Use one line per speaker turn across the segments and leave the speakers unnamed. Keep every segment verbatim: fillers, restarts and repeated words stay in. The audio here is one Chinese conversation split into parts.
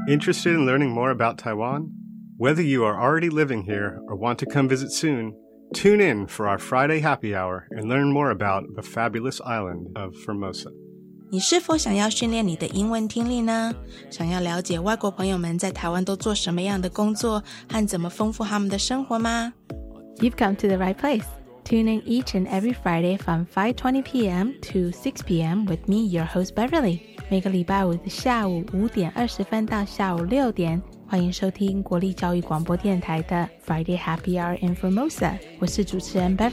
Interested in learning more about Taiwan? Whether you are already living here or want to come visit soon, tune in for our Friday happy hour and learn more about the fabulous island of Formosa.
你是否想要训练你的英文听力呢？想要了解外国朋友们在台湾都做什么样的工作和怎么丰富他们的生活吗？
You've come to the right place. Tune in each and every Friday from five twenty p.m. to six p.m. with me, your host Beverly. 每个礼拜五的下午五点二十分到下午六点，欢迎收听国立教育广播电台的 Friday Happy Hour in Formosa. 我是主持人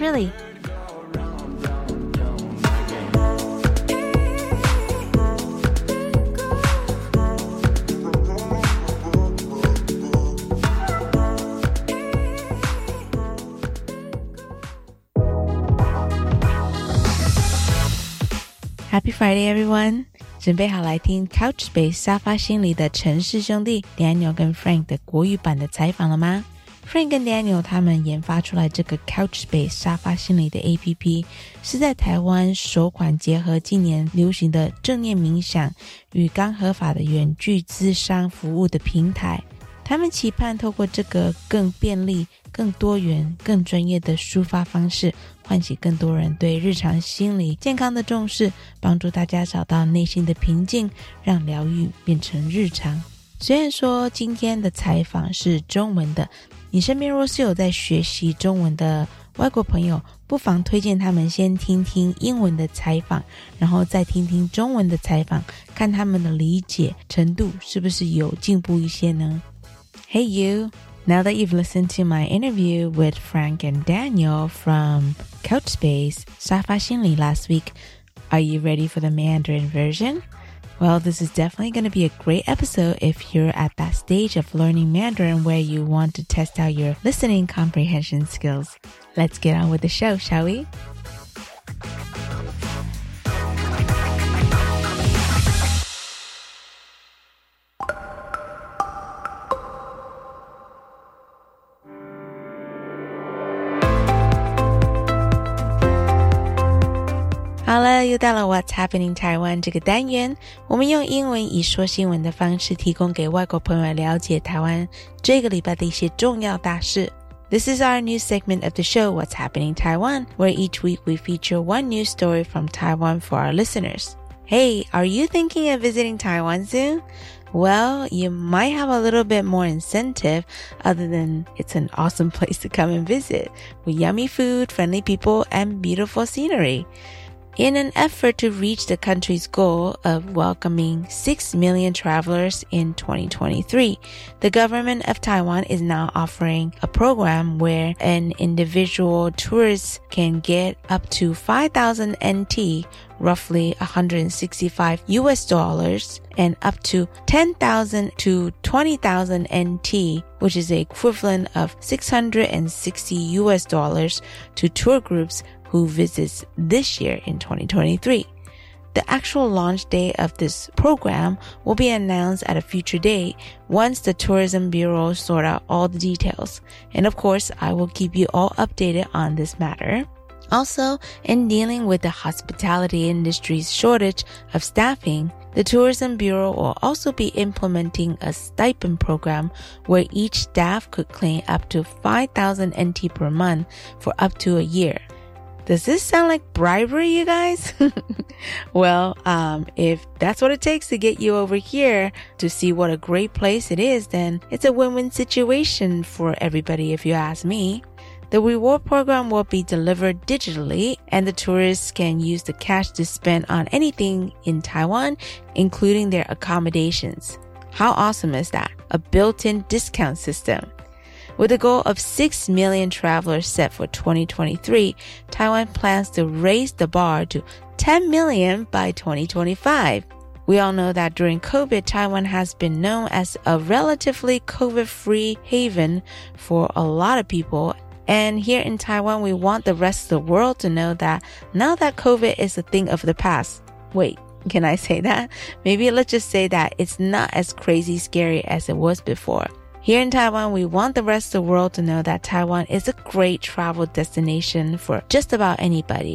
Beverly.Happy Friday, everyone! 准备好来听 Couchspace 沙发心理的陈氏兄弟 Daniel 跟 Frank 的国语版的采访了吗？ Frank 跟 Daniel 他们研发出来这个 Couchspace 沙发心理的 A P P 是在台湾首款结合近年流行的正念冥想与刚合法的远距咨商服务的平台。他们期盼透过这个更便利、更多元、更专业的抒发方式，唤起更多人对日常心理健康的重视，帮助大家找到内心的平静，让疗愈变成日常。虽然说今天的采访是中文的，你身边若是有在学习中文的外国朋友，不妨推荐他们先听听英文的采访，然后再听听中文的采访，看他们的理解程度是不是有进步一些呢？ Hey you! Now that you've listened to my interview with Frank and Daniel from Couchspace 沙发心理 last week, are you ready for the Mandarin version? Well, this is definitely going to be a great episode if you're at that stage of learning Mandarin where you want to test out your listening comprehension skills. Let's get on with the show, shall we?好了，又到了 What's Happening Taiwan 这个单元，我们用英文以说新闻的方式提供给外国朋友了解台湾这个礼拜的一些重要大事。This is our new segment of the show, What's Happening Taiwan, where each week we feature one news story from Taiwan for our listeners. Hey, are you thinking of visiting Taiwan soon? Well, you might have a little bit more incentive other than it's an awesome place to come and visit with yummy food, friendly people, and beautiful scenery.In an effort to reach the country's goal of welcoming six million travelers in twenty twenty-three, the government of Taiwan is now offering a program where an individual tourist can get up to five thousand N T, roughly one hundred sixty-five U S dollars, and up to ten thousand to twenty thousand N T, which is the equivalent of six hundred sixty U S dollars to tour groups who visits this year in twenty twenty-three. The actual launch date of this program will be announced at a future date once the Tourism Bureau sort out all the details. And of course, I will keep you all updated on this matter. Also, in dealing with the hospitality industry's shortage of staffing, the Tourism Bureau will also be implementing a stipend program where each staff could claim up to five thousand N T per month for up to a year.Does this sound like bribery, you guys? Well, um, if that's what it takes to get you over here to see what a great place it is, then it's a win-win situation for everybody if you ask me. The reward program will be delivered digitally, and the tourists can use the cash to spend on anything in Taiwan, including their accommodations. How awesome is that? A built-in discount system.With a goal of six million travelers set for twenty twenty-three, Taiwan plans to raise the bar to ten million by twenty twenty-five. We all know that during COVID, Taiwan has been known as a relatively COVID-free haven for a lot of people. And here in Taiwan, we want the rest of the world to know that now that COVID is a thing of the past. Wait, can I say that? Maybe let's just say that it's not as crazy scary as it was before.Here in Taiwan, we want the rest of the world to know that Taiwan is a great travel destination for just about anybody.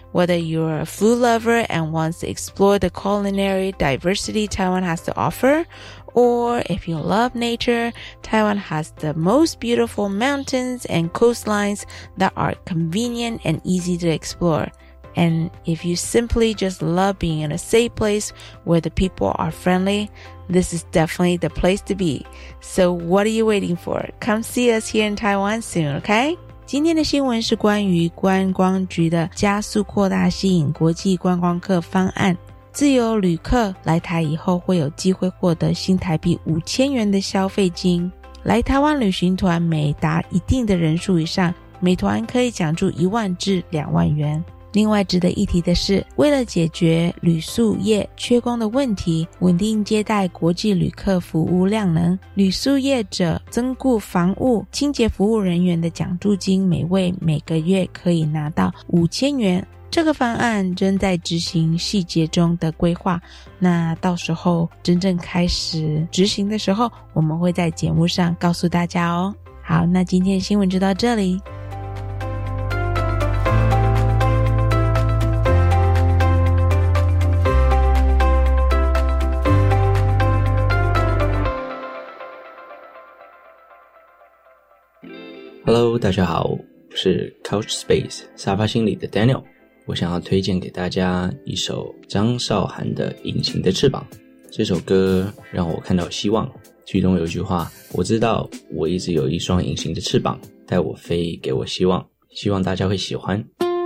Whether you're a food lover and wants to explore the culinary diversity Taiwan has to offer, or if you love nature, Taiwan has the most beautiful mountains and coastlines that are convenient and easy to explore. And if you simply just love being in a safe place where the people are friendly, this is definitely the place to be. So what are you waiting for? Come see us here in Taiwan soon, okay? 今天的新闻是关于观光局的加速扩大吸引国际观光客方案。自由旅客来台以后会有机会获得新台币五千元的消费金。来台湾旅行团每达一定的人数以上，每团可以奖助一万至两万元。另外值得一提的是，为了解决旅宿业缺工的问题，稳定接待国际旅客服务量能，旅宿业者增雇房务清洁服务人员的奖助金，每位每个月可以拿到五千元。这个方案正在执行细节中的规划，那到时候真正开始执行的时候，我们会在节目上告诉大家哦。好，那今天的新闻就到这里。
Hello， 大家好，我是 Couch Space 沙发心理的 Daniel。我想要推荐给大家一首张韶涵的《隐形的翅膀》。这首歌让我看到希望，剧中有一句话，我知道我一直有一双隐形的翅膀，带我飞，给我希望，希望大家会喜欢。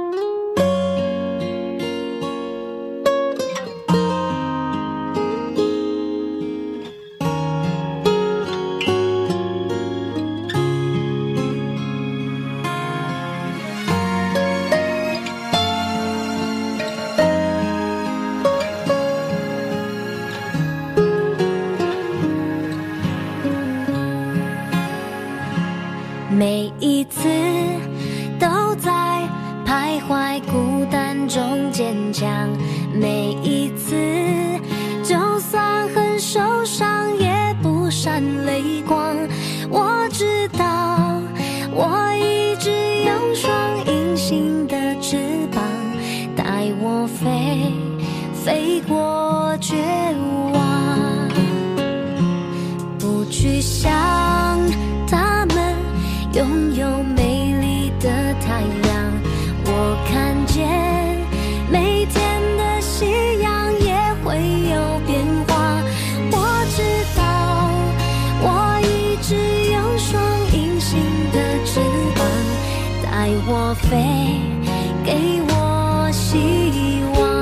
每一次都在徘徊孤单中坚强，每一次就算很受伤也不闪泪光。我知道我一直有双隐形的翅膀，带我飞，飞过绝望，不去想他们拥有美丽的太阳。我看见每天的夕阳也会有变化。我知道我一直有双隐形的翅膀，带我飞，给我希望。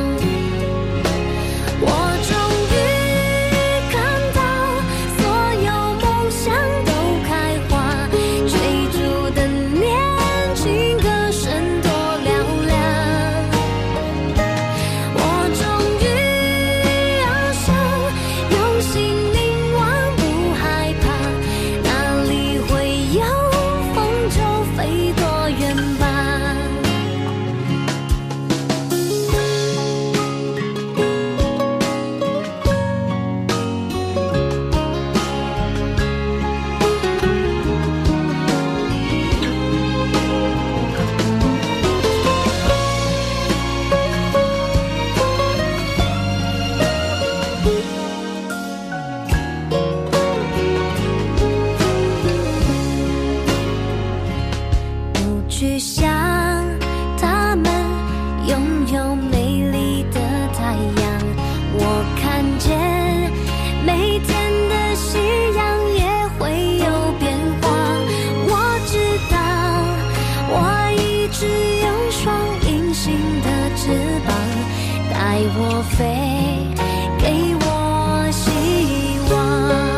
去想他们拥有美丽的太阳，我看见每天的夕阳也会有变化。我知道我一直有双隐形的翅膀，带我飞，给我希望。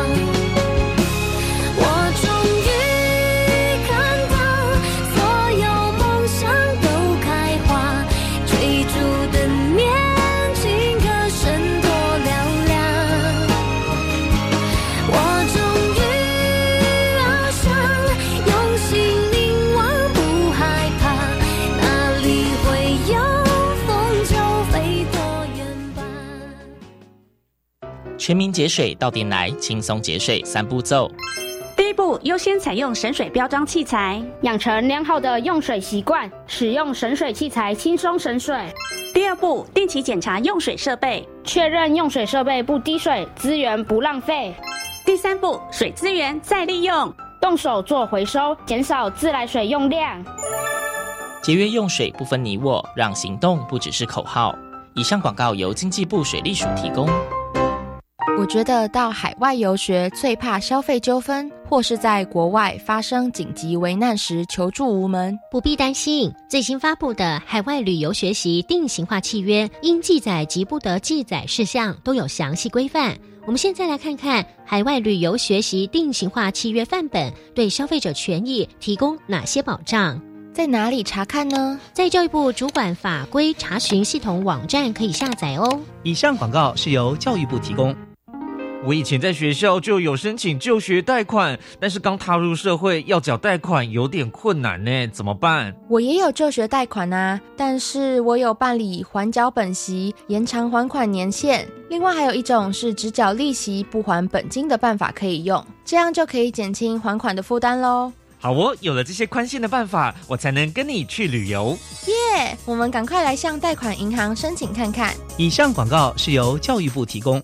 全民节水到店来，轻松节水三步骤。 第一步，优先采用省水标章器材，
养成良好的用水习惯，使用省水器材轻松省水。
第二步，定期检查用水设备，
确认用水设备不滴水，资源不浪费。
第三步，水资源再利用，
动手做回收，减少自来水用量。
节约用水不分你我，让行动不只是口号。以上广告由经济部水利署提供。
我觉得到海外游学最怕消费纠纷，或是在国外发生紧急危难时求助无门。
不必担心，最新发布的海外旅游学习定型化契约，应记载及不得记载事项都有详细规范。我们现在来看看海外旅游学习定型化契约范本对消费者权益提供哪些保障。
在哪里查看呢？
在教育部主管法规查询系统网站可以下载哦。
以上广告是由教育部提供。我以前在学校就有申请就学贷款，但是刚踏入社会要缴贷款有点困难呢，怎么办？
我也有就学贷款啊，但是我有办理缓缴本息、延长还款年限，另外还有一种是只缴利息不还本金的办法可以用，这样就可以减轻还款的负担咯。
好哦，有了这些宽限的办法，我才能跟你去旅游。
耶、yeah, 我们赶快来向贷款银行申请看看。
以上广告是由教育部提供。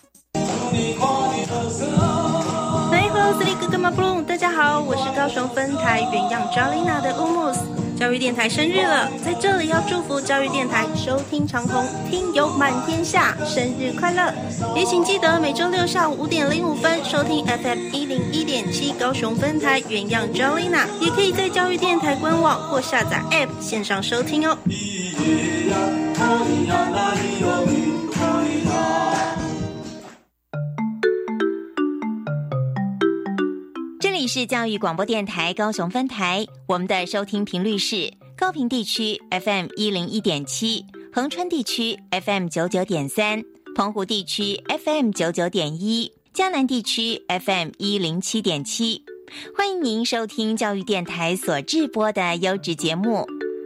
大家好，我是高雄分台原样 Jolina 的乌木斯。教育电台生日了，在这里要祝福教育电台收听长虹，听友满天下，生日快乐！也请记得每周六下午五点零五分收听 F M 一零一点七高雄分台原样 Jolina， 也可以在教育电台官网或下载 App 线上收听哦。
这里是教育广播电台高雄分台，我们的收听频率是高屏地区 F M 一零一点七， 恒春地区 F M 九十九点三， 澎湖地区 F M 九十九点一， 嘉南地区 F M 一零七点七。 欢迎您收听教育电台所制播的优质节目。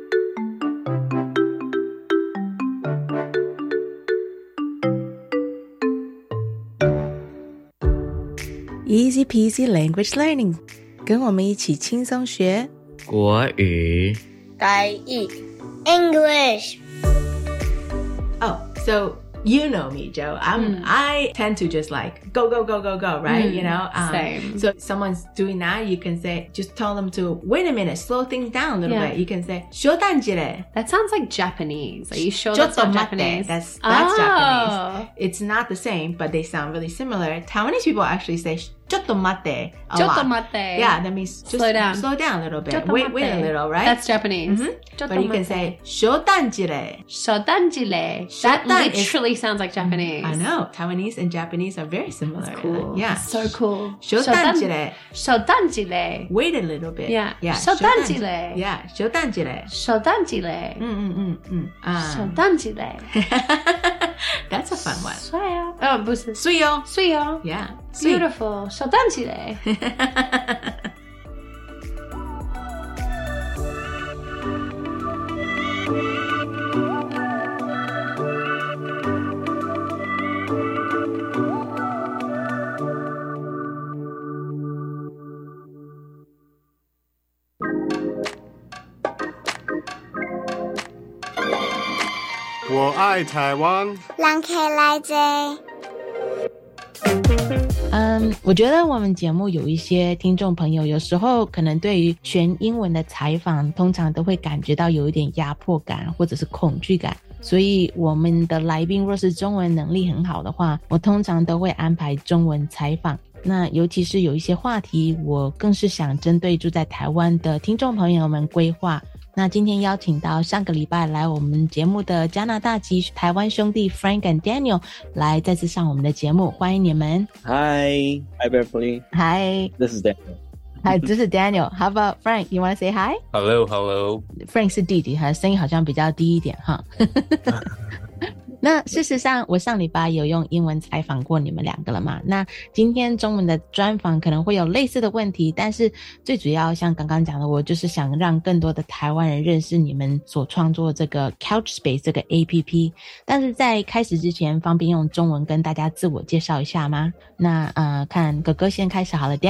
Easy peasy language learning， 跟我们一起轻松学
国语。
台语 English。
Oh, so you know me, Joe. I'm, mm. I tend to just like go, go, go, go, go, right? Mm, you know? Um,
same.
So if someone's doing that, you can say, just tell them to, wait a minute, slow things down a little yeah. bit. You can say, 쇼단지래.
That sounds like Japanese. Are you sure that's not Japanese?
That's, that's
oh.
Japanese. It's not the same, but they sound really similar. Taiwanese people actually say, ちょっと待って a lot.
ちょっと待って
Yeah, that means just
slow down.
Slow down a little bit. Wait, wait a little, right?
That's Japanese.
Mm-hmm. But you can say, 쇼단지래.
쇼단지래. That literally is, sounds like Japanese.
I know. Taiwanese and Japanese are very similar.
That's cool.
Yeah.
That's so cool.
쇼단지래.
쇼단지래.
Wait a little bit.
Yeah.
Yeah.
쇼단지래.
Yeah. 쇼단지래.
쇼단지래.
Mm-mm-mm.
쇼단지래.
That's a fun one.
帅啊. Oh, 不是.
水哦.
水哦.
Yeah.
Beautiful. 쇼단지래.
我爱台湾，
人客来坐。
嗯，我觉得我们节目有一些听众朋友，有时候可能对于全英文的采访，通常都会感觉到有一点压迫感或者是恐惧感。所以我们的来宾若是中文能力很好的话，我通常都会安排中文采访。那尤其是有一些话题，我更是想针对住在台湾的听众朋友们规划。那今天邀请到上个礼拜来我们节目的加拿大籍台湾兄弟 Frank and Daniel 来再次上我们的节目，欢迎你们。
Hi, hi Beverly.
Hi,
this is Daniel.
Hi, this is Daniel. How about Frank? You want to say hi?
Hello, hello.
Frank 是弟弟，他声音好像比较低一点哈。那事实上我上礼拜有用英文采访过你们两个了嘛，那今天中文的专访可能会有类似的问题，但是最主要像刚刚讲的，我就是想让更多的台湾人认识你们所创作这个 Couchspace 这个 A P P。 但是在开始之前，方便用中文跟大家自我介绍一下吗？那呃，看哥哥先开始好了。 Daniel。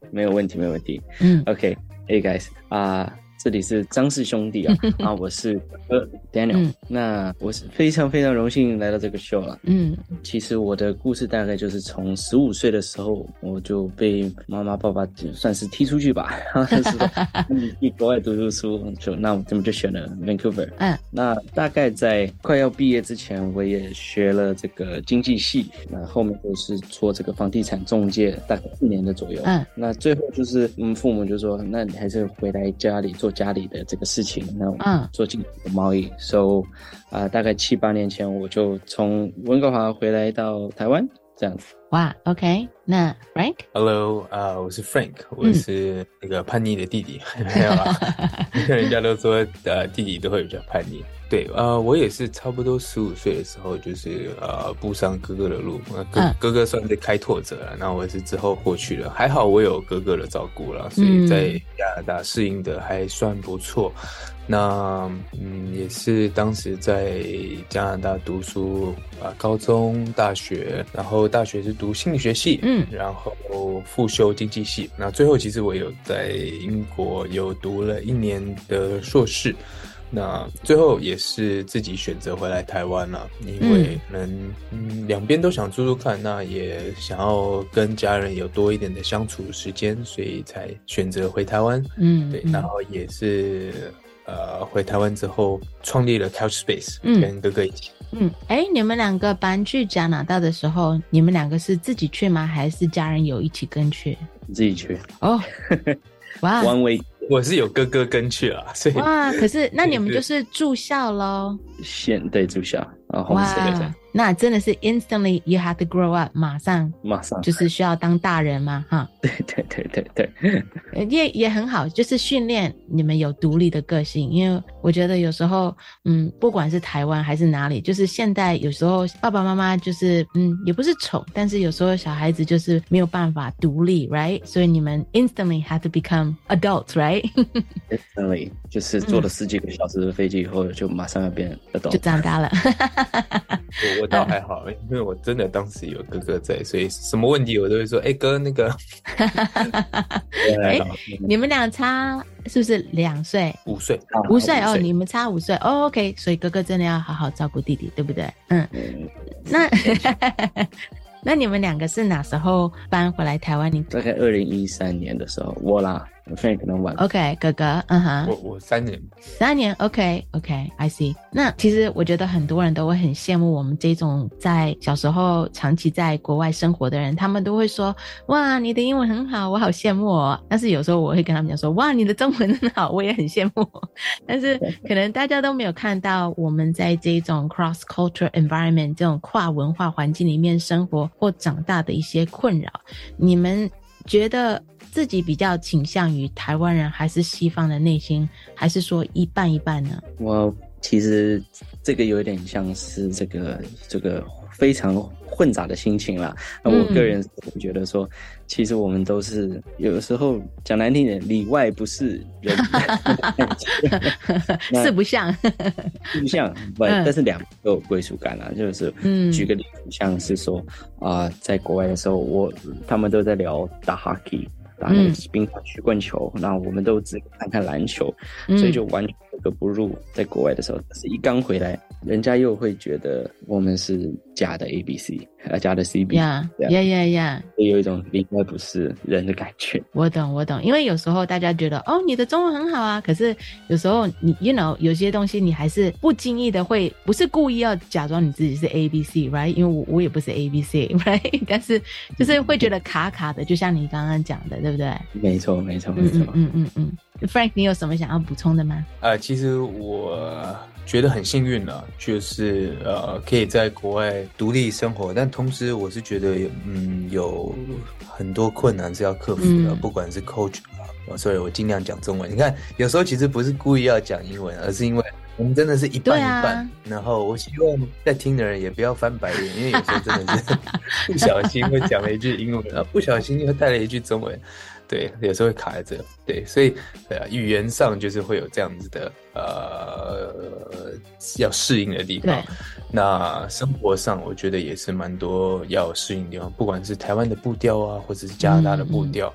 没有问题，没有问题。
嗯
，OK，Hey guys 啊、uh,。这里是张氏兄弟啊，啊，我是哥 Daniel、嗯。那我是非常非常荣幸来到这个 show 了。嗯，其实我的故事大概就是从十五岁的时候，我就被妈妈爸爸算是踢出去吧，是去国外读读书，就那我们就选了 Vancouver。嗯，那大概在快要毕业之前，我也学了这个经济系，那后面就是做这个房地产中介，大概四年的左右。嗯，那最后就是嗯，父母就说，那你还是回来家里做家里的这个事情，那嗯，做进口贸易。So 啊、呃，大概七八年前我就从温哥华回来到台湾这样子。
哇 ，OK， 那 Frank？Hello，
啊、呃，我是 Frank， 我是那个叛逆的弟弟，嗯、没有啦，人家都说呃弟弟都会比较叛逆。对，呃，我也是差不多十五岁的时候，就是呃步上哥哥的路，哥、嗯、哥哥算是开拓者了，那我是之后过去了，还好我有哥哥的照顾了，所以在加拿大适应的还算不错。那嗯，也是当时在加拿大读书啊、呃，高中、大学，然后大学是读心理学系，嗯，然后复修经济系。那最后其实我有在英国有读了一年的硕士。那最后也是自己选择回来台湾了，因为可能嗯两边都想住住看，那也想要跟家人有多一点的相处时间，所以才选择回台湾。嗯，对，然后也是呃回台湾之后创立了 Couchspace，嗯，跟哥哥一起。
嗯，哎，你们两个搬去加拿大的时候，你们两个是自己去吗？还是家人有一起跟去？
自己去。
哦，哇
，One way。
我是有哥哥跟去了，所以
哇，可是那你们就是住校咯？
现对住校，然后
哇，那真的是 instantly you have to grow up， 马上
马上
就是需要当大人嘛，哈。
对对对对对，
也也很好，就是训练你们有独立的个性。因为我觉得有时候，嗯，不管是台湾还是哪里，就是现在有时候爸爸妈妈就是嗯，也不是宠，但是有时候小孩子就是没有办法独立 ，right？ 所以你们 instantly have to become adults， right？Instantly
就是坐了十几个小时的飞机以后，就马上要变 adult，
就长大了。
我我倒还好，因为我真的当时有哥哥在，所以什么问题我都会说，哎、欸、哥，那个。
哎、欸，你们俩差是不是两岁？
五岁，
五岁哦，你们差五岁哦 ，OK， 所以哥哥真的要好好照顾弟弟，对不对？嗯，那那你们两个是哪时候搬回来台湾？你
大概二零一三年的时候，我啦。Frank 可能晚
OK 哥哥嗯哼，
我我三年
三年 OK OK I see。 那其实我觉得很多人都会很羡慕我们这种在小时候长期在国外生活的人，他们都会说哇你的英文很好，我好羡慕哦。但是有时候我会跟他们讲说哇你的中文很好，我也很羡慕。但是可能大家都没有看到我们在这种 cross culture environment 这种跨文化环境里面生活或长大的一些困扰。你们觉得自己比较倾向于台湾人还是西方的内心，还是说一半一半呢？
我其实这个有点像是这个这个非常混杂的心情啦。那、嗯、我个人觉得说，其实我们都是有的时候讲难听点，里外不是人，
四不像，
四不像，不、嗯，但是两都有归属感啦。就是举个例子，像是说啊、呃，在国外的时候，我他们都在聊打 hockey。打那个冰上曲棍球，然后我们都只看看篮球，嗯、所以就完全格格不入。在国外的时候，但是一刚回来，人家又会觉得我们是假的 A B C， 呃，假的 C B，
呀呀呀呀，
会有一种里外不是人的感觉。
我懂，我懂，因为有时候大家觉得哦，你的中文很好啊，可是有时候你 you know 有些东西你还是不经意的会，不是故意要假装你自己是 A B C，right？ 因为我我也不是 A B C，right？ 但是就是会觉得卡卡的，就像你刚刚讲的，对不对？
没错，没错，没错。
嗯嗯嗯嗯。Frank， 你有什么想要补充的吗？
呃，其实我觉得很幸运了，就是呃可以在国外独立生活，但同时我是觉得嗯有很多困难是要克服的，嗯、不管是 culture 啊，所以我尽量讲中文。你看，有时候其实不是故意要讲英文，而是因为我们真的是一半一半。啊、然后我希望在听的人也不要翻白眼，因为有时候真的是不小心会讲了一句英文，然后不小心又带了一句中文。对，有时候会卡在这，对，所以对啊，语言上就是会有这样子的呃要适应的地方。那生活上，我觉得也是蛮多要适应的地方，不管是台湾的步调啊，或者是加拿大的步调，嗯嗯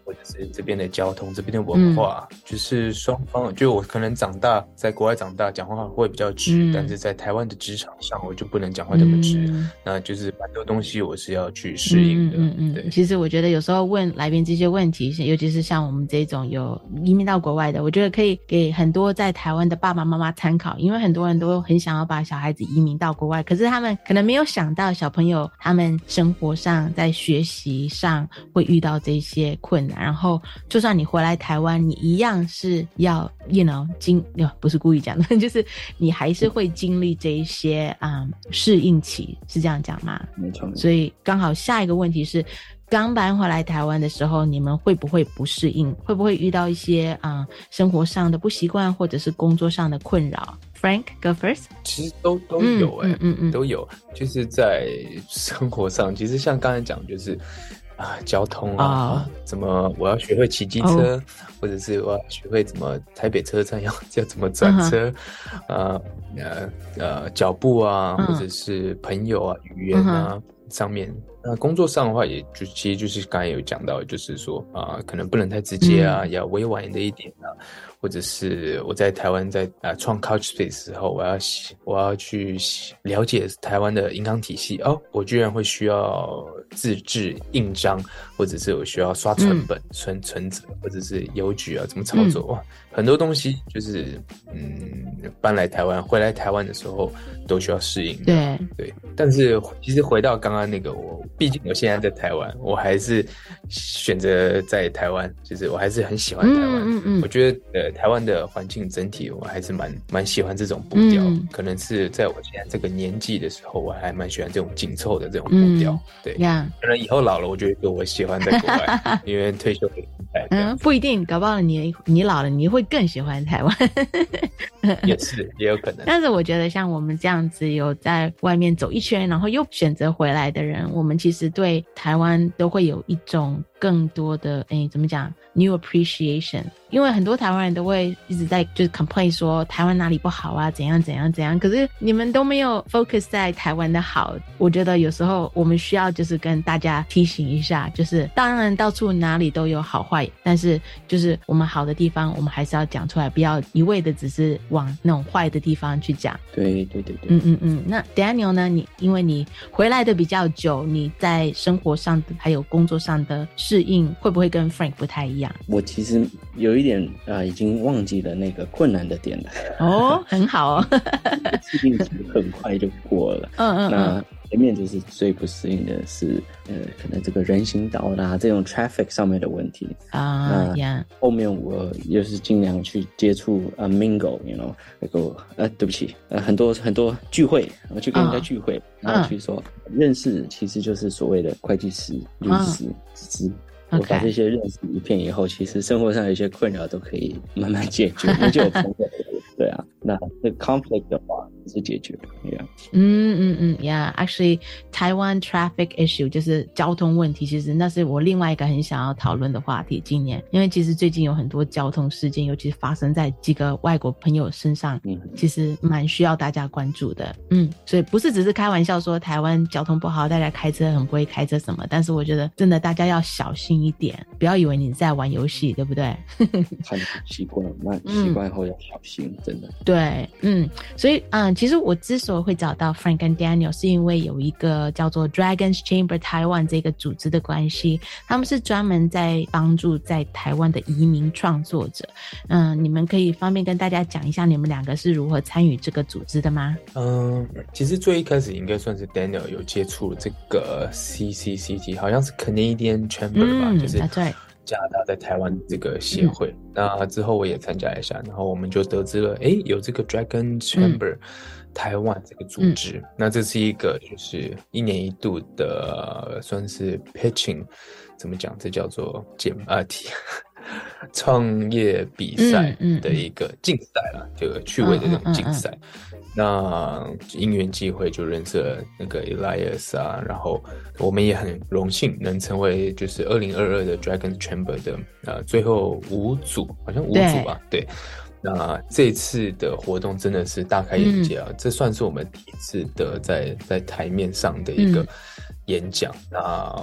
或者是这边的交通、这边的文化，嗯、就是双方，就我可能长大在国外长大，讲话会比较直，嗯、但是在台湾的职场上，我就不能讲话这么直，嗯、那就是蛮多东西我是要去适应的。
嗯嗯嗯，其实我觉得有时候问来宾这些问题，尤其是像我们这种有移民到国外的，我觉得可以给很多在台湾的爸爸妈妈参考，因为很多人都很想要把小孩子移民到国外，可是他们可能没有想到小朋友他们生活上在学习上会遇到这些困难，然后就算你回来台湾，你一样是要 you know 经不是故意讲的，就是你还是会经历这一些啊适、嗯、应期，是这样讲吗？
没错。
所以刚好下一个问题是，刚搬回来台湾的时候，你们会不会不适应？会不会遇到一些啊、呃、生活上的不习惯，或者是工作上的困扰？Frank, go first.
其实都都有哎、欸，
嗯嗯嗯，
都有。就是在生活上，其实像刚才讲，就是啊，交通啊，啊怎么我要学会骑机车，哦、或者是我要学会怎么台北车站要要怎么转车，呃呃呃脚步啊，嗯、或者是朋友啊、语言啊、嗯、上面。那工作上的话，也就其实就是刚才有讲到，就是说啊、呃，可能不能太直接啊，嗯、要委婉的一点啊。或者是我在台湾在啊创 Couchspace 的时候，我要我要去了解台湾的银行体系哦，我居然会需要自制印章，或者是我需要刷存本、嗯、存存折，或者是邮局啊怎么操作、嗯、哇，很多东西就是嗯搬来台湾回来台湾的时候都需要适应的。
对
对，但是其实回到刚刚那个，我毕竟我现在在台湾，我还是选择在台湾，就是我还是很喜欢台湾。嗯嗯嗯，我觉得呃。台湾的环境整体我还是蛮蛮喜欢这种步调、嗯、可能是在我现在这个年纪的时候，我还蛮喜欢这种紧凑的这种步调、嗯、对、yeah. 可能以后老了我觉得我喜欢在国外因为退休的心态
嗯，不一定，搞不好你你老了你会更喜欢台湾
也是也有可能。
但是我觉得像我们这样子有在外面走一圈然后又选择回来的人，我们其实对台湾都会有一种更多的诶怎么讲 new appreciation， 因为很多台湾人都会一直在就是 complain 说台湾哪里不好啊，怎样怎样怎样，可是你们都没有 focus 在台湾的好。我觉得有时候我们需要就是跟大家提醒一下，就是当然到处哪里都有好坏，但是就是我们好的地方我们还是要讲出来，不要一味的只是往那种坏的地方去讲。
对对对对，
嗯嗯嗯。那 Daniel 呢，你因为你回来的比较久，你在生活上的还有工作上的适应会不会跟 Frank 不太一样？
我其实有一点啊、呃，已经忘记了那个困难的点了。
哦，很好哦，
适应期很快就过了。嗯嗯嗯。那前面就是最不适应的是，呃，可能这个人行道啦，这种 traffic 上面的问题啊。那、yeah. 后面我也是尽量去接触啊、uh, mingle，you know， 那个呃，对不起，呃，很多很多聚会，我去跟人家聚会，哦、然后去说、嗯、认识，其实就是所谓的会计师、律师、资、哦。我把这些认识一遍以后，其实生活上有一些困扰都可以慢慢解决，我就有朋友。对啊，那那 conflict 的话是解决的 ，yeah。
嗯嗯嗯 ，yeah。Actually， 台湾 traffic issue 就是交通问题，其实那是我另外一个很想要讨论的话题。今年，因为其实最近有很多交通事件，尤其是发生在几个外国朋友身上，嗯，其实蛮需要大家关注的。嗯，所以不是只是开玩笑说台湾交通不好，大家开车很不会开车什么，但是我觉得真的大家要小心一点，不要以为你在玩游戏，对不对？
很习惯，那习惯后要小心。嗯，真的
对，嗯，所以嗯，其实我之所以会找到 Frank 跟 Daniel 是因为有一个叫做 Dragons Chamber Taiwan 这个组织的关系，他们是专门在帮助在台湾的移民创作者。嗯，你们可以方便跟大家讲一下你们两个是如何参与这个组织的吗？
嗯，其实最一开始应该算是 Daniel 有接触这个 C C C T， 好像是 Canadian Chamber 吧，嗯，就是对。加拿大在台湾这个协会，嗯，那之后我也参加一下，然后我们就得知了，诶，有这个 Dragon Chamber，嗯，台湾这个组织，嗯，那这是一个就是一年一度的算是 pitching， 怎么讲？这叫做简啊题创业比赛的一个竞赛啦，这个趣味的这种竞赛。嗯嗯嗯嗯，那因缘际会就认识了那个 Elias 啊，然后我们也很荣幸能成为就是二零二二的 Dragon Chamber 的呃最后五组，好像五组吧，对。对，那这次的活动真的是大开眼界啊，嗯，这算是我们第一次的在在台面上的一个演讲，嗯，那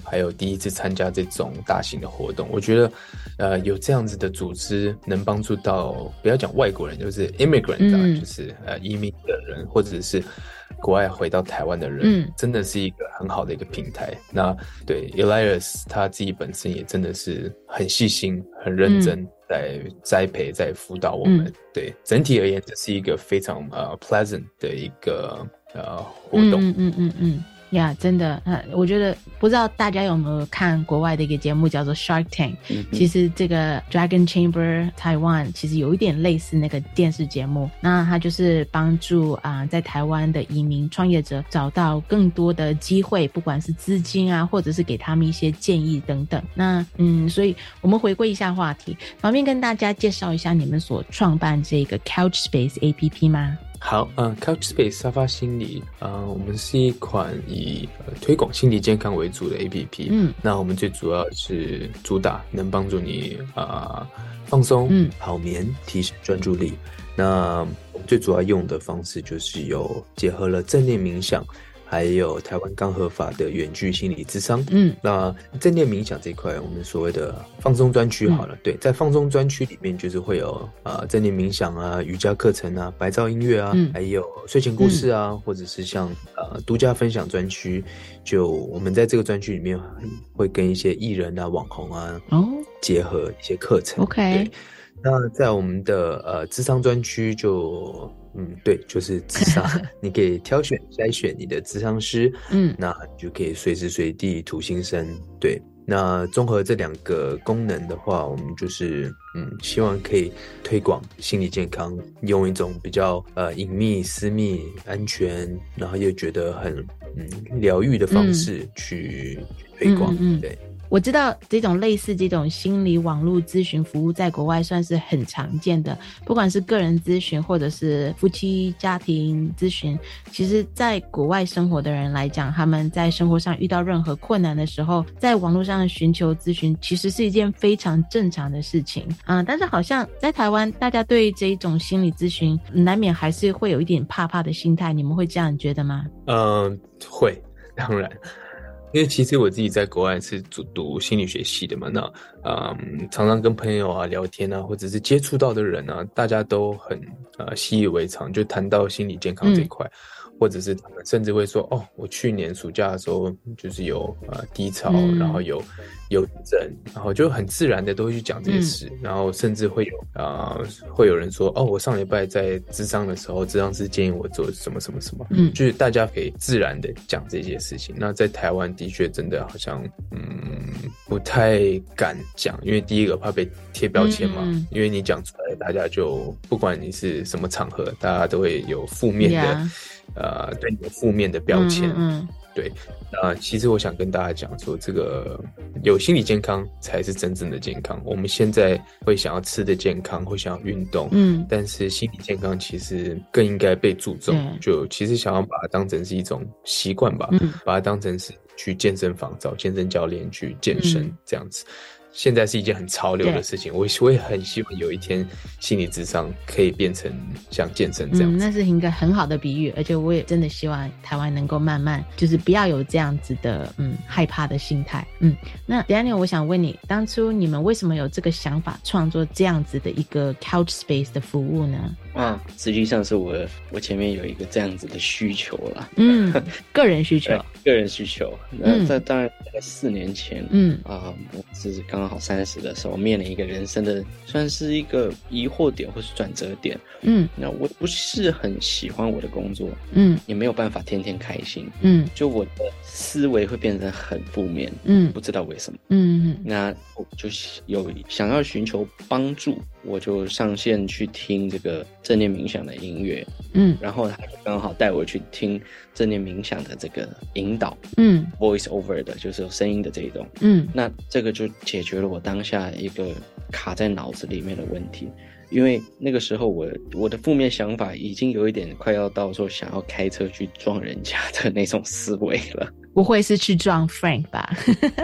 还有第一次参加这种大型的活动。我觉得呃有这样子的组织能帮助到不要讲外国人，就是 immigrant 啊、嗯、就是呃移民的人或者是国外回到台湾的人、嗯、真的是一个很好的一个平台。那对 Elias 他自己本身也真的是很细心很认真、嗯在栽培在辅导我们、嗯、对整体而言这是一个非常呃 pleasant 的一个呃活动。
嗯嗯嗯嗯呀、yeah, 真的、呃、我觉得不知道大家有没有看国外的一个节目叫做 Shark Tank、嗯、其实这个 Dragon Chamber Taiwan 其实有一点类似那个电视节目，那它就是帮助啊、呃、在台湾的移民创业者找到更多的机会，不管是资金啊或者是给他们一些建议等等。那嗯，所以我们回归一下话题，方便跟大家介绍一下你们所创办这个 Couchspace A P P 吗？
好，嗯 ，Couchspace 沙发心理，呃，我们是一款以、呃、推广心理健康为主的 A P P。嗯，那我们最主要是主打能帮助你啊、呃、放松、嗯、好眠、提升专注力。那我们最主要用的方式就是有结合了正念冥想。还有台湾刚合法的远距心理咨商。嗯，那正念冥想这一块，我们所谓的放松专区好了、嗯，对，在放松专区里面就是会有呃正念冥想啊、瑜伽课程啊、白噪音乐啊、嗯，还有睡前故事啊，嗯、或者是像呃独家分享专区，就我们在这个专区里面会跟一些艺人啊、网红啊哦结合一些课程。OK， 那在我们的呃諮商專區就嗯對，就是諮商，你可以挑選篩選你的諮商師，嗯，那你就可以隨時隨地吐心聲，對。那綜合這兩個功能的話，我們就是嗯希望可以推廣心理健康，用一種比較呃隱秘、私密、安全，然後又覺得很嗯療癒的方式去推廣，嗯嗯嗯對。
我知道这种类似这种心理网络咨询服务在国外算是很常见的，不管是个人咨询或者是夫妻家庭咨询，其实在国外生活的人来讲，他们在生活上遇到任何困难的时候，在网络上寻求咨询其实是一件非常正常的事情啊、呃。但是好像在台湾大家对这一种心理咨询难免还是会有一点怕怕的心态，你们会这样觉得吗？
嗯，会，当然。因为其实我自己在国外是读心理学系的嘛，那嗯，常常跟朋友啊聊天啊，或者是接触到的人啊，大家都很呃习以为常，就谈到心理健康这一块、嗯，或者是他们甚至会说，哦，我去年暑假的时候就是有呃低潮、嗯，然后有忧郁症，然后就很自然的都会去讲这些事、嗯，然后甚至会有啊、呃、会有人说，哦，我上礼拜在諮商的时候，諮商師建議我做什麼什麼什麼，嗯，就是大家可以自然的講這些事情。那在台灣的確真的好像嗯不太敢講，因為第一個怕被貼標籤嘛，嗯、因為你講出來，大家就不管你是什麼場合，大家都會有負面的、yeah. 呃對你有負面的標籤。嗯嗯對，那其實我想跟大家講說，這個有心理健康才是真正的健康。我們現在會想要吃的健康，會想要運動，嗯，但是心理健康其實更應該被注重。就其實想要把它當成是一種習慣吧，嗯、把它當成是去健身房找健身教練去健身、嗯、這樣子。現在是一件很潮流的事情，我我也很希望有一天心理諮商可以變成像健身這樣子。
嗯，那是一個很好的比喻，而且我也真的希望台灣能夠慢慢就是不要有這樣子的嗯害怕的心態。嗯，那 Daniel 我想問你，當初你們為什麼有這個想法創作這樣子的一個 Couchspace 的服務呢？
啊，實際上是我我前面有一個這樣子的需求啦。
嗯，個人需求。
個人需求。那在當然在四年前，嗯啊、呃，我是剛好三十的時候，面臨一個人生的算是一個疑惑點或是轉折點。嗯，那我不是很喜歡我的工作，嗯，也沒有辦法天天開心，嗯，就我的思維會變成很負面，嗯，不知道為什麼，嗯，那我就有想要尋求幫助，我就上線去聽這個正念冥想的音樂，嗯，然後他就剛好帶我去聽正念冥想的這個引導，嗯 ，voice over 的，就是有聲音的這一種，嗯，那這個就解決了我當下一個卡在腦子裡面的問題，因為那個時候我我的負面想法已經有一點快要到說想要開車去撞人家的那種思維了。
不會是去撞 Frank 吧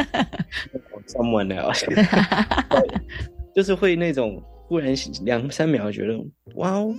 ？Someone else 就是會那種忽然兩三秒覺得哇，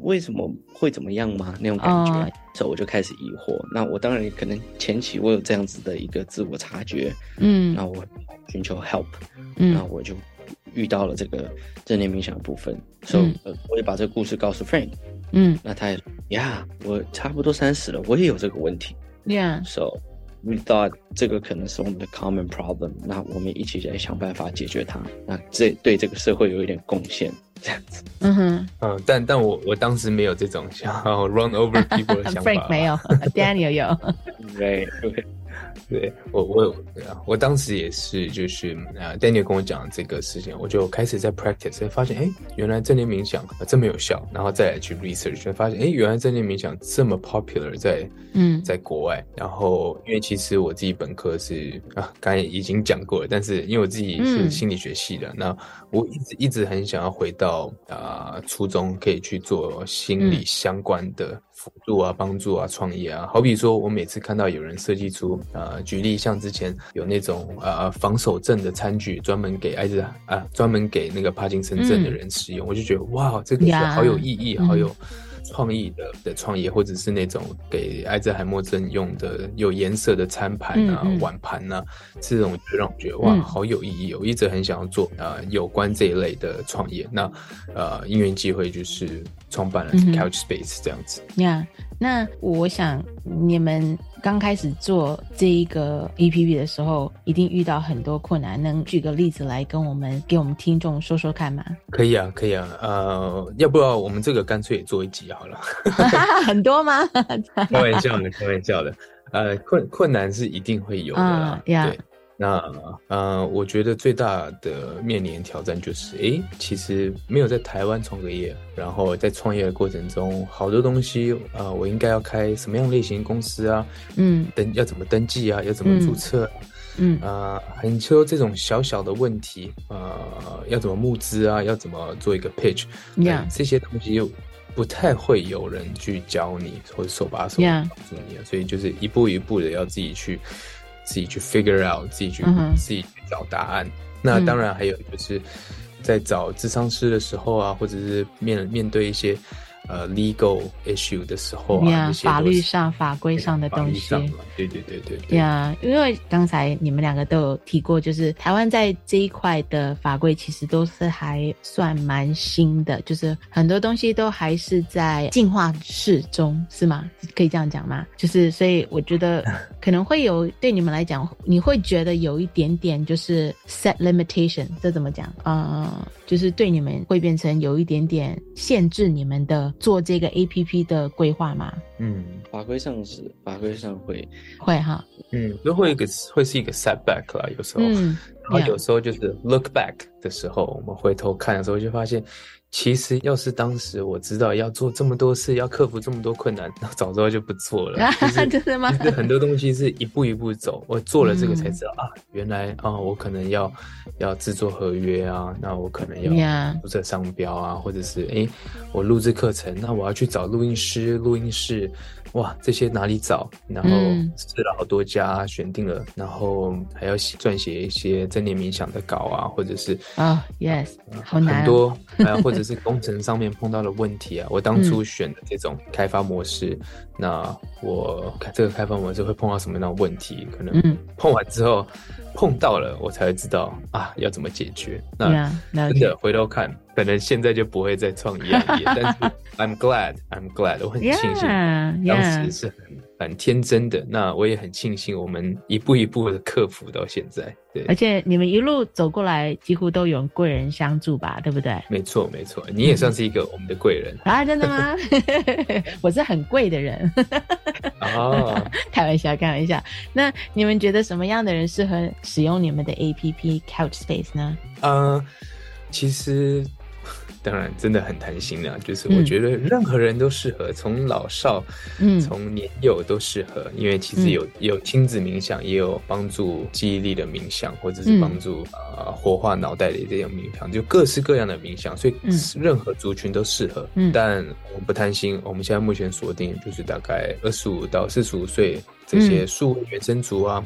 为什么会怎么样吗？那种感觉，哦、所以我就开始疑惑。那我当然可能前期我有这样子的一个自我察觉，嗯，那我寻求 help， 嗯，那我就遇到了这个正念冥想的部分，所以、嗯 so, 我也把这个故事告诉 Frank， 嗯，那他也说呀，我差不多三十了，我也有这个问题 ，Yeah，so we thought 这个可能是我们的 common problem， 那我们一起来想办法解决它，那这对这个社会有一点贡献。这样子，嗯哼，
嗯，但但我我当时没有这种想要 run over people 的想法。
Frank 没有，Daniel 有。
对对对，我我我当时也是，就是呃 ，Daniel 跟我讲这个事情，我就开始在 practice， 发现哎，原来正念冥想这么有效，然后再来去 research， 发现哎，原来正念冥想这么 popular 在嗯在国外。然后因为其实我自己本科是啊，刚才已经讲过了，但是因为我自己是心理学系的，嗯、那我一直一直很想要回到。啊、呃，初中可以去做心理相关的辅助啊、帮助啊、创业啊。好比说，我每次看到有人设计出，呃，举例像之前有那种呃防守症的餐具，专门给艾滋啊，专门给那个帕金森症的人使用，嗯、我就觉得哇，这个是好有意义， yeah, 好有。创意的的创业，或者是那种给艾滋海默症用的有颜色的餐盘啊、嗯嗯、碗盘啊，这种就让我觉得哇，好有意义、哦。我一直很想要做呃有关这一类的创业。那呃因缘际会就是创办了 Couch Space 这样子。
呀、嗯 yeah, 那我想你们刚开始做这一个 A P P 的时候，一定遇到很多困难，能举个例子来跟我们给我们听众说说看吗？
可以啊，可以啊，呃，要不要我们这个干脆也做一集好了？
很多吗？
开玩笑的，开玩笑的。呃，困困难是一定会有的啦，嗯、yeah. 对。那呃，我觉得最大的面临挑战就是，诶，其实没有在台湾创个业，然后在创业的过程中，好多东西，呃，我应该要开什么样类型公司啊？嗯，登要怎么登记啊？要怎么注册、啊？嗯，啊、呃，很多这种小小的问题，呃，要怎么募资啊？要怎么做一个 pitch？ Yeah. 这些东西又不太会有人去教你，或者手把手帮助你、啊， 所以就是一步一步的要自己去。自己去 figure out， 自己去、嗯、自己去找答案。那当然还有就是在找諮商師的时候啊，或者是面面对一些呃 legal issue 的时候啊，
yeah, 法律上法规上的东西，
对对对对对
呀。Yeah, 因为刚才你们两个都有提过，就是台湾在这一块的法规其实都是还算蛮新的，就是很多东西都还是在进化式中，是吗？可以这样讲吗？就是所以我觉得可能会有对你们来讲，你会觉得有一点点就是 set limitation， 这怎么讲？呃，就是对你们会变成有一点点限制你们的做这个 A P P 的规划吗？
嗯，法规上是法规上会
会哈，
嗯，都会一个会是一个 setback 啦，有时候，嗯、然后有时候就是 look back 的时候，我们回头看的时候就发现。其实要是当时我知道要做这么多事，要克服这么多困难，那早知道就不做了。
真的吗？
就是很多东西是一步一步走，我做了这个才知道、嗯、啊，原来啊，我可能要要制作合约啊，那我可能要注册商标啊， yeah. 或者是诶，我录制课程，那我要去找录音师、录音室，哇，这些哪里找？然后试了好多家，选定了，然后还要撰写一些正念冥想的稿啊，或者是
啊、oh, ，yes， 好难、哦，
很多，还有或者是工程上面碰到的问题啊。我当初选的这种开发模式，嗯、那我这个开发模式会碰到什么样的问题？可能碰完之后。碰到了我才会知道啊要怎么解决。那真的回头看，可能现在就不会再创一样业，但是 I'm glad I'm glad 我很庆幸 yeah, 当时是很、yeah. 很天真的。那我也很庆幸我们一步一步的克服到现在。对，
而且你们一路走过来几乎都有贵人相助吧，对不对？
没错没错，你也算是一个我们的贵人、
嗯、啊。真的吗？我是很贵的人。哦，开玩笑开玩笑。那你们觉得什么样的人适合使用你们的 A P P Couch Space 呢？
呃，其实当然真的很贪心啊，就是我觉得任何人都适合，从、嗯、老少，嗯，从年幼都适合，因为其实有、嗯、有亲子冥想，也有帮助记忆力的冥想，或者是帮助、嗯、呃活化脑袋的这种冥想，就各式各样的冥想，所以任何族群都适合。嗯，但我们不贪心，我们现在目前锁定就是大概二十五到四十五岁这些数位原生族啊。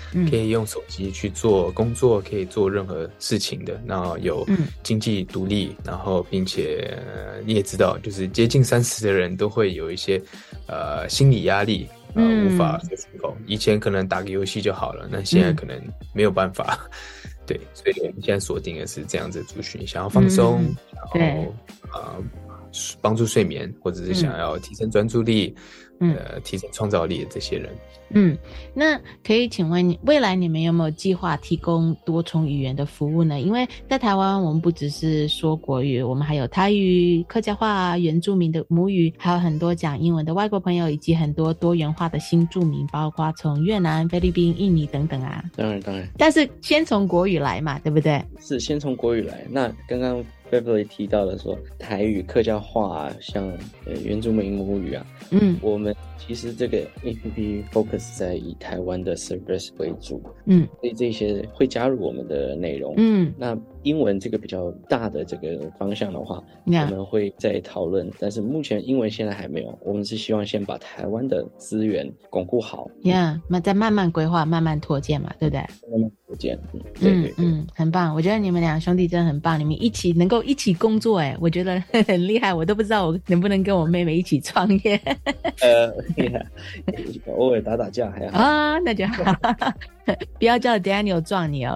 可以用手机去做工作，可以做任何事情的，然后有经济独立，然后并且、呃、你也知道，就是接近三十的人都会有一些呃心理压力。呃，无法说出口。以前可能打个游戏就好了，那现在可能没有办法。嗯、对，所以我们现在锁定的是这样子的族群，想要放松，嗯、然后呃帮助睡眠，或者是想要提升专注力，嗯、呃提升创造力的这些人。
嗯，那可以请问未来你们有没有计划提供多重语言的服务呢？因为在台湾我们不只是说国语，我们还有台语、客家话、原住民的母语，还有很多讲英文的外国朋友，以及很多多元化的新住民，包括从越南、菲律宾、印尼等等啊。
当然当然，
但是先从国语来嘛，对不对？
是先从国语来。那刚刚 Beverly 提到的说台语、客家话啊，像呃原住民母语啊，嗯，我们其实这个 A P P focus 在以台湾的 service 为主，嗯，所以这些会加入我们的内容，嗯，那英文这个比较大的这个方向的话， yeah. 我们会再讨论，但是目前英文现在还没有，我们是希望先把台湾的资源巩固好
，Yeah， 那再慢慢规划，慢慢拓建嘛，对不对？
慢慢拓建，嗯，对对对，
嗯，很棒，我觉得你们两兄弟真的很棒，你们一起能够一起工作，哎，我觉得很厉害，我都不知道我能不能跟我妹妹一起创业。呃，
偶尔打打架还好
啊，那就好。不要叫 Daniel 撞你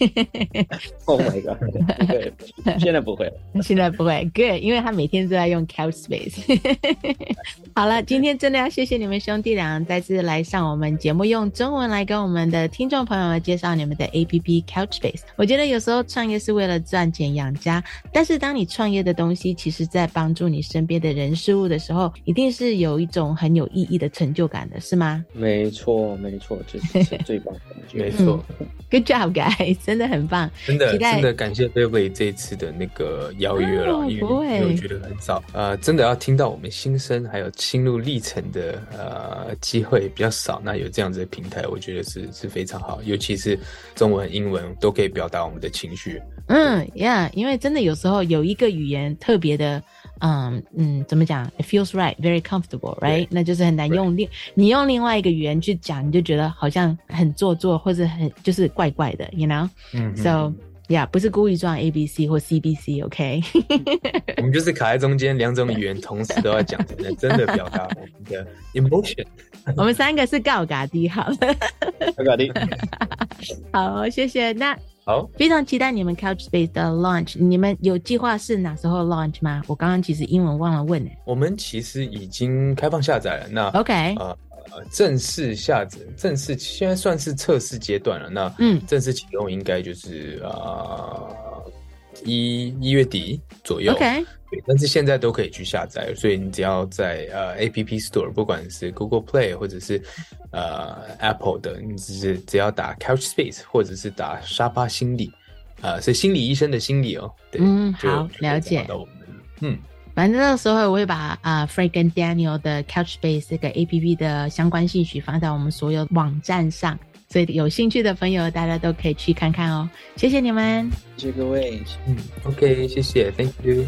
，OK？Oh
my god！ 不会，现在不会了，
现在不会 ，Good， 因为他每天都在用 Couchspace。好了，今天真的要谢谢你们兄弟俩再次来上我们节目，用中文来跟我们的听众朋友们介绍你们的 A P P Couchspace。我觉得有时候创业是为了赚钱养家，但是当你创业的东西其实在帮助你身边的人事物的时候，一定是有一种很有意义的成就感的，是吗？
没错，没错，这是最棒的。
没错、
嗯、，Good job, guys， 真的很棒，
真的真的感谢 Beverly 这一次的那个邀约了，哦、因为我觉得很少，呃，真的要听到我们心声还有心路历程的呃机会比较少，那有这样子的平台，我觉得是是非常好，尤其是中文、英文都可以表达我们的情绪。
嗯 ，Yeah， 因为真的有时候有一个语言特别的。嗯嗯，怎么讲 ？It feels right, very comfortable, right？ 那就是很难用另你用另外一个语言去讲，你就觉得好像很做作，或者很就是怪怪的 ，you know？ 嗯 ，So yeah， 不是故意撞 A B C 或 C B C，OK？、Okay?
我们就是卡在中间，两种语言同时都要讲，才能真的表达我们的 emotion。
我们三个是告嘎的，好了，
告嘎的，
好，谢谢。那。
好，
非常期待你们 Couchspace 的 launch， 你们有计划是哪时候 launch 吗？我刚刚其实英文忘了问呢。
我们其实已经开放下载了，那
OK，
呃，正式下载，正式现在算是测试阶段了，那嗯，正式启用应该就是呃一一月底左右
，OK。
对，但是现在都可以去下载，所以你只要在呃 A P P Store， 不管是 Google Play 或者是呃 Apple 的，你只是只要打 Couchspace 或者是打沙发心理，呃，是心理医生的心理哦。对，
嗯，好，了解。嗯，反正到时候我会把啊、呃、Frank 跟 Daniel 的 Couchspace 这个 A P P 的相关信息放在我们所有网站上。所以有兴趣的朋友，大家都可以去看看哦。谢谢你们，
谢谢各位。
嗯 ，OK， 谢谢 ，Thank you。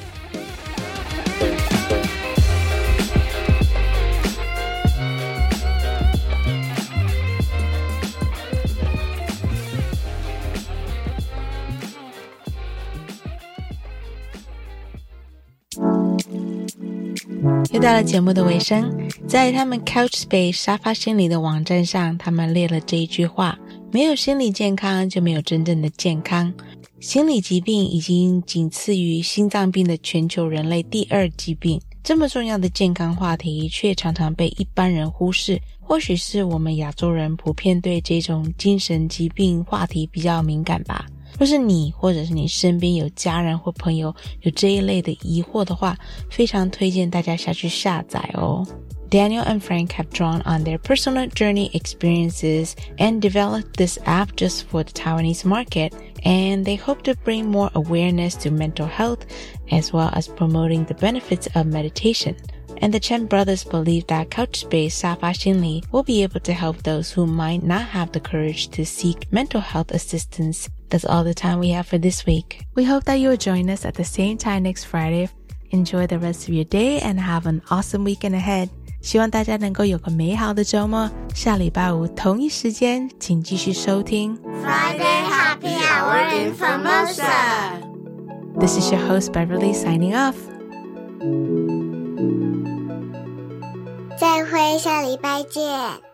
又到了节目的尾声，在他们 Couchspace 沙发心理的网站上，他们列了这一句话：没有心理健康，就没有真正的健康。心理疾病已经仅次于心脏病的全球人类第二疾病。这么重要的健康话题，却常常被一般人忽视。或许是我们亚洲人普遍对这种精神疾病话题比较敏感吧。若是你或者是你身边有家人或朋友有这一类的疑惑的话，非常推荐大家下去下载哦。Daniel and Frank have drawn on their personal journey experiences and developed this app just for the Taiwanese market, and they hope to bring more awareness to mental health as well as promoting the benefits of meditation. And the Chen brothers believe that Couchspace Safa Xinli will be able to help those who might not have the courage to seek mental health assistance. That's all the time we have for this week. We hope that you'll join us at the same time next Friday. Enjoy the rest of your day and have an awesome weekend ahead. 希望大家能够有个美好的周末，下礼拜五同一时间请继续收听
Friday Happy Hour in Formosa.
This is your host Beverly signing off.
再会，下礼拜见。